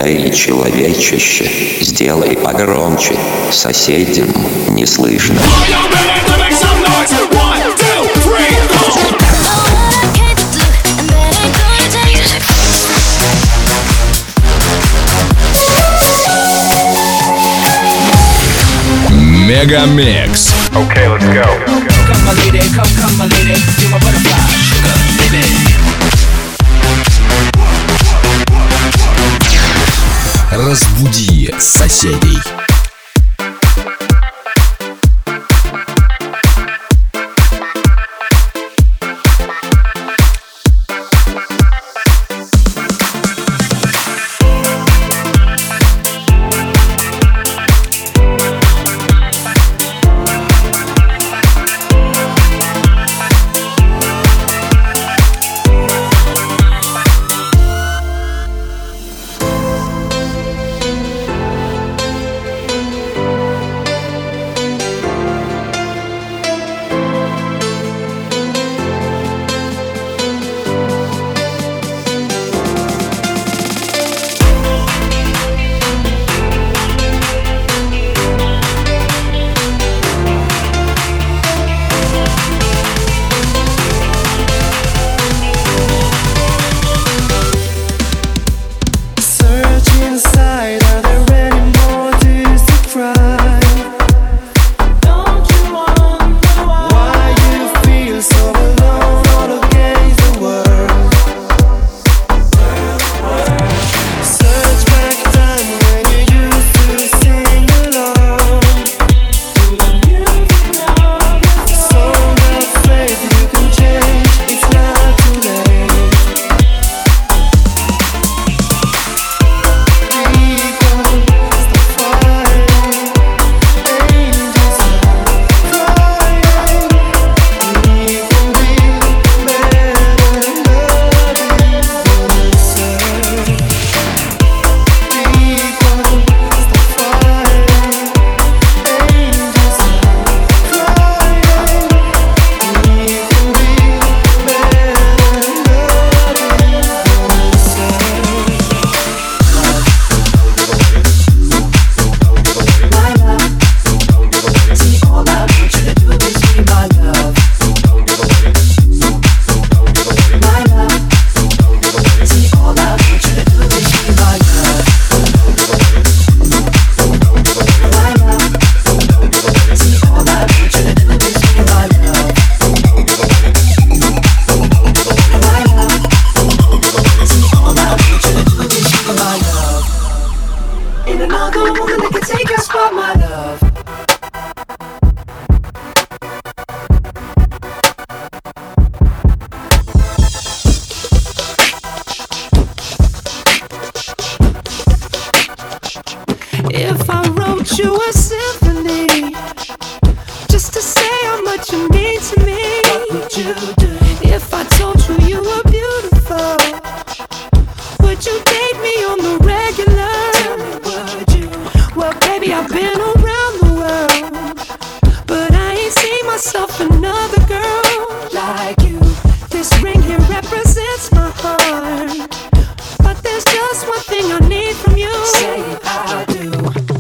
Эй, человечище, сделай погромче, соседям не слышно. Мегамикс. Okay, let's go. Come my lady, come my lady, you're my butterfly, sugar, baby. Разбуди соседей. If I wrote you a symphony just to say how much you mean to me, what would you do? If I told you you were beautiful, would you date me on the regular? Tell me, would you? Well, baby, I've been around the world, but I ain't seen myself another girl like you. This ring here represents my heart, but there's just one thing I need from you. Say I do.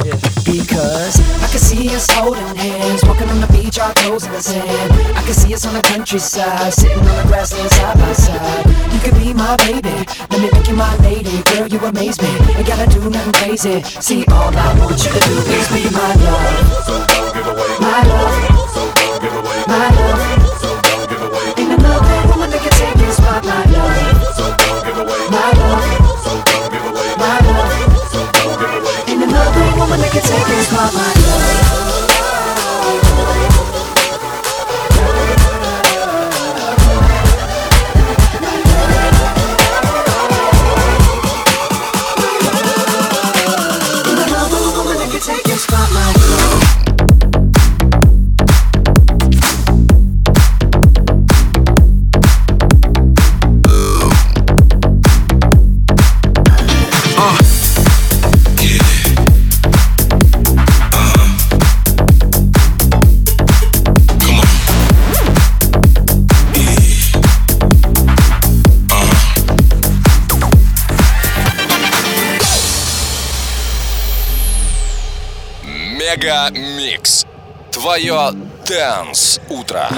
Because I can see us holding hands, walking on the beach, our toes in the sand. I can see us on the countryside, sitting on the grassland side by side. You could be my baby, let me make you my lady. Girl, you amaze me, ain't gotta do nothing crazy. See, all I want you to do is be my love. So don't give away my love. So don't give away my love. So don't give away. Ain't another woman that can take your spot, my love. So don't give away my love. So don't give away my love. So don't give away. Ain't another woman that can take your spot, my love. Мега Микс. Твое Dance утро.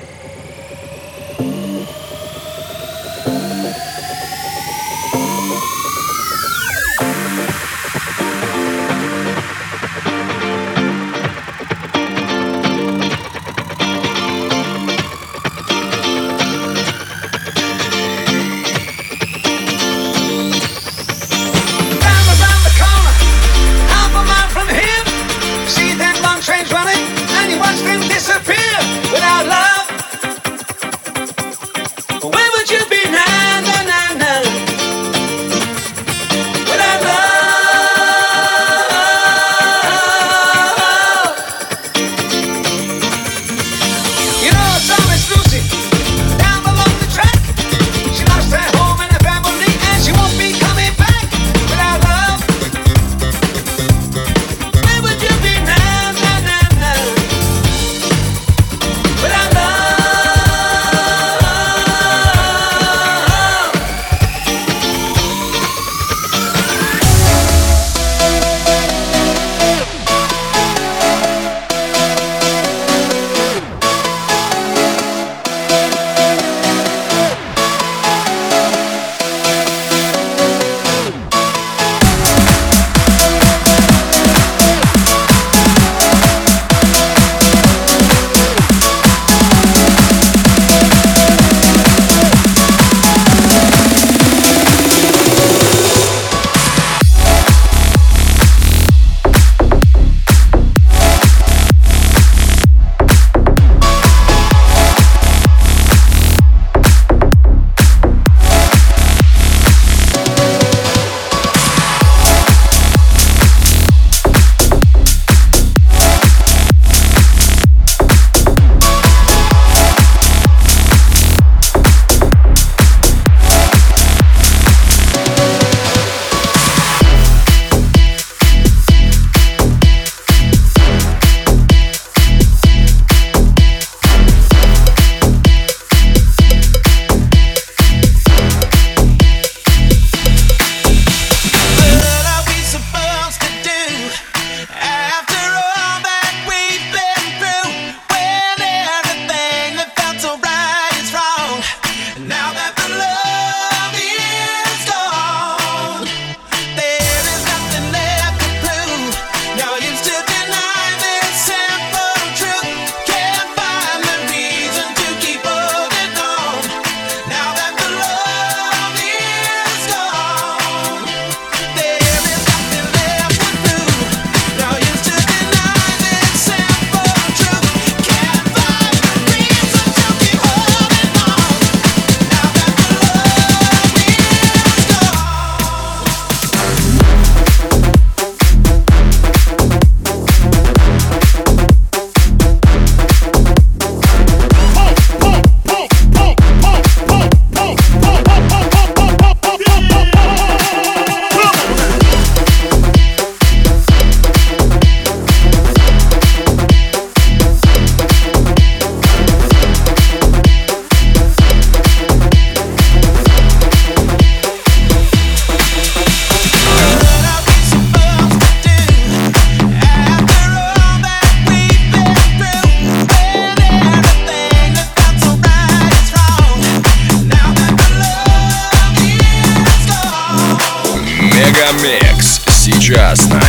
Мегамикс сейчас на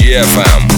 DFM.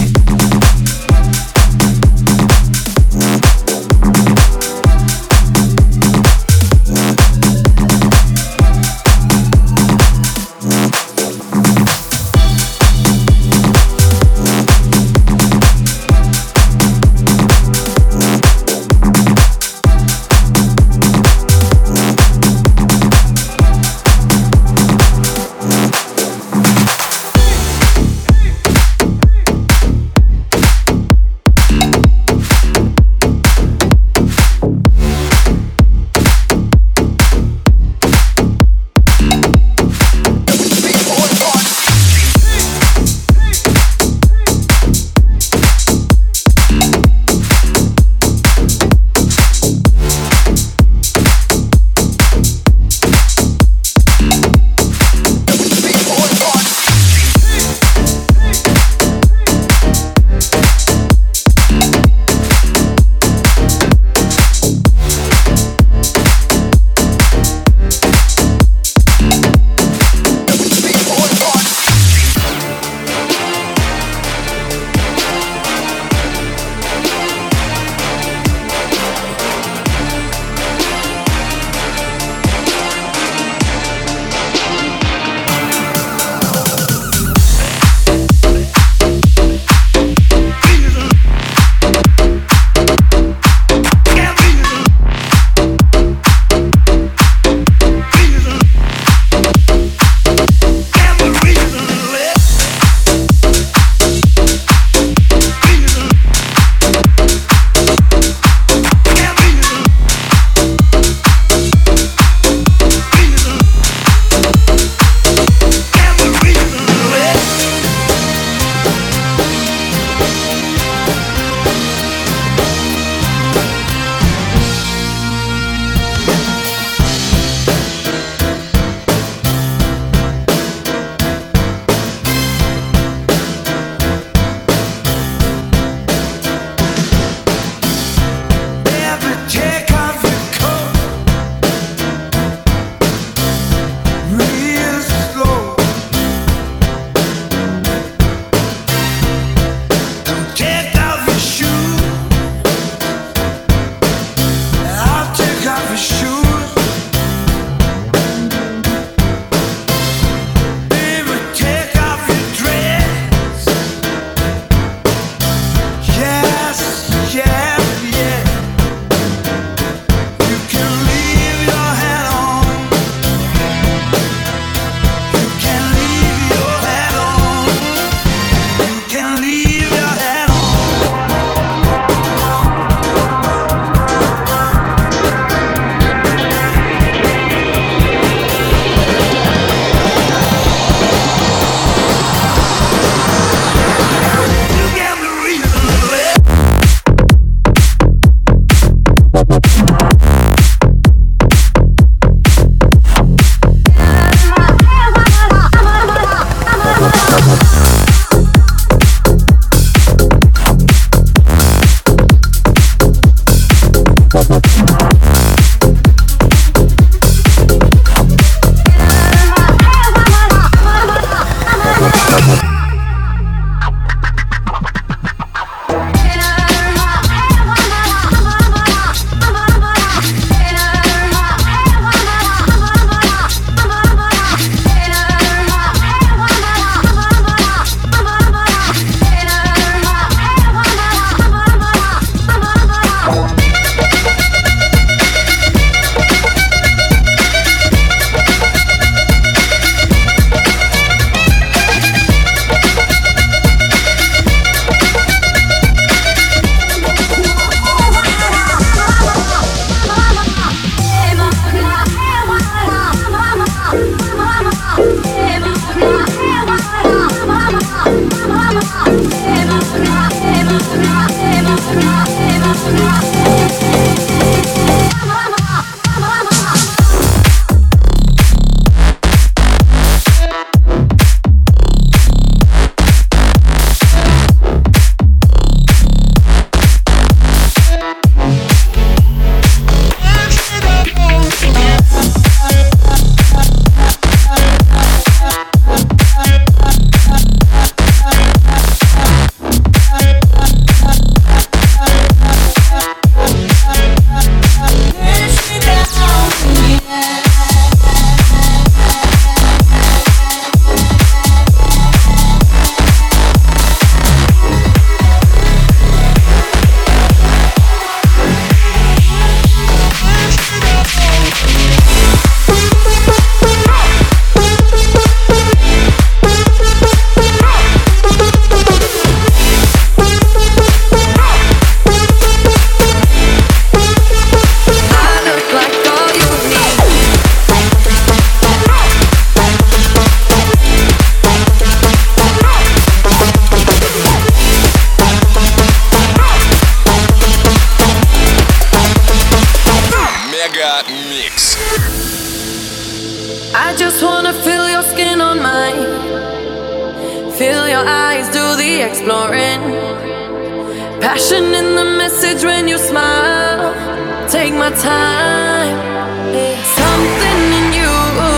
your eyes do the exploring. Passion in the message when you smile. Take my time. Something in you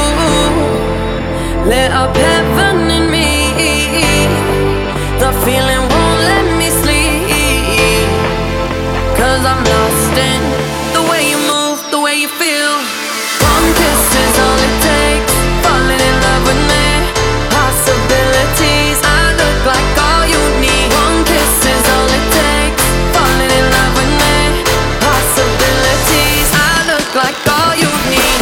lit up heaven in me. The feeling won't let me sleep, 'cause I'm lost in the way you move, the way you feel. One kiss is all it takes. Falling in love with me. Possibilities, I look like all you need. One kiss is all it takes. Falling in love with me. Possibilities, I look like all you need.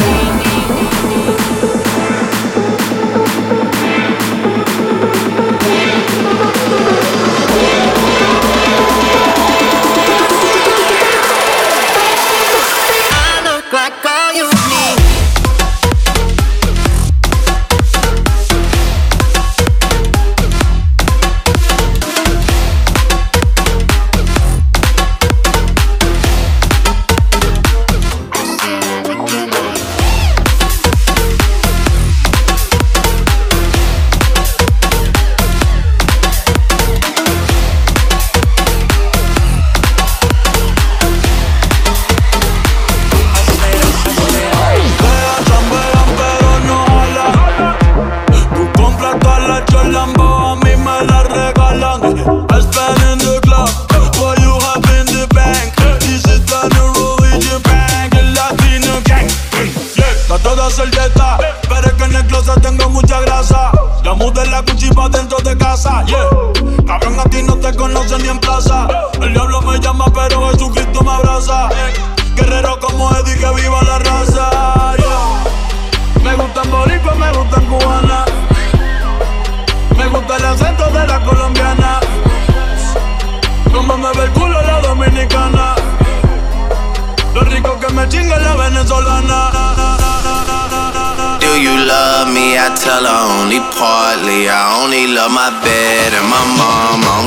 Tell her only partly. I only love my bed and my mom. I'm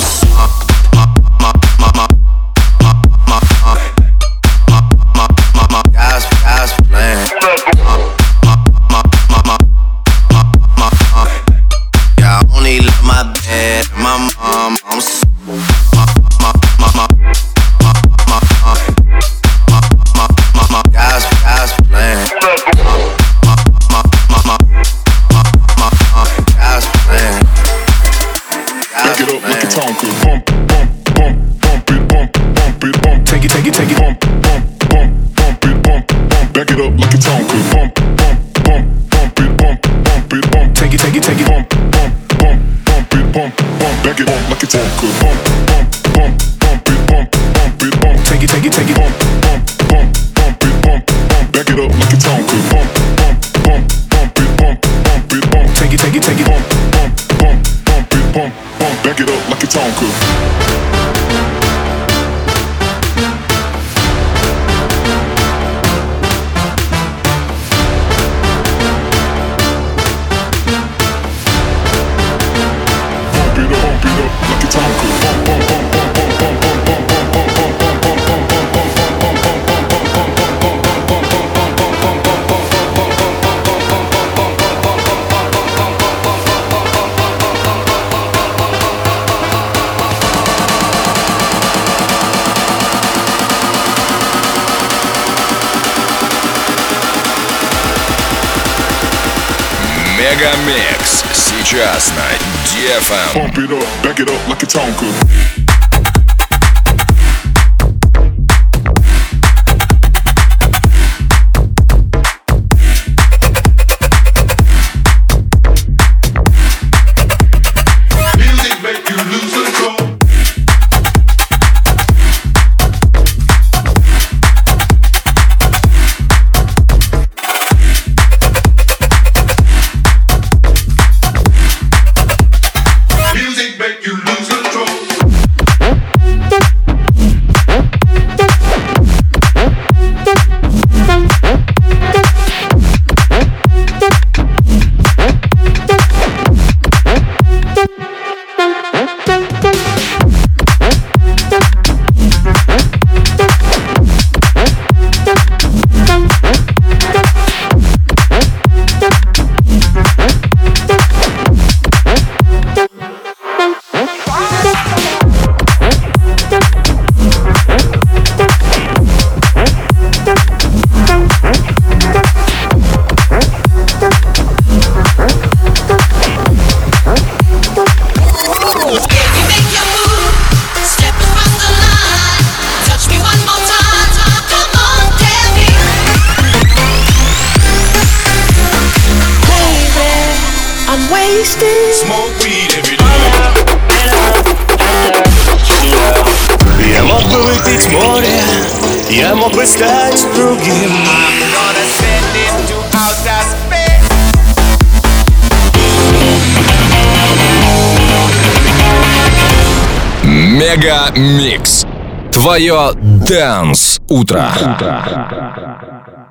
guys playing. Yeah, I only love my bed and my mom. I'm guys playing. Back it up like a Tonka. Bump, bump, bump, bump it, bump, bump it, bump. Take it, take it, take it. Bump, bump, bump, bump it, bump, bump. Back it up like a Tonka. Bump, bump, bump, bump it, bump, bump it, bump. Take it, take it, take it. Bump, bump, bump, bump it, bump, bump. Back it up like a Tonka. Bump, bump, bump, bump it, bump, bump it, bump. Take it, take it, take it. Bump, bump, bump, bump it, bump, bump. Back it up like a Tonka. Bump, bump, bump, bump it, bump, bump it, bump. Take it, take it, take it. Bump, bump, bump, bump it, bump, bump. Back it up like a Tonka. Мегамикс сейчас на DFM. Pump it up, back it up like a Tonka. Music make you lose control. wasted. Smoke weed every day. Я мог бы выпить море, я мог бы стать другим. I'm gonna send it to outer space. Мега Микс. Твое Dance утро.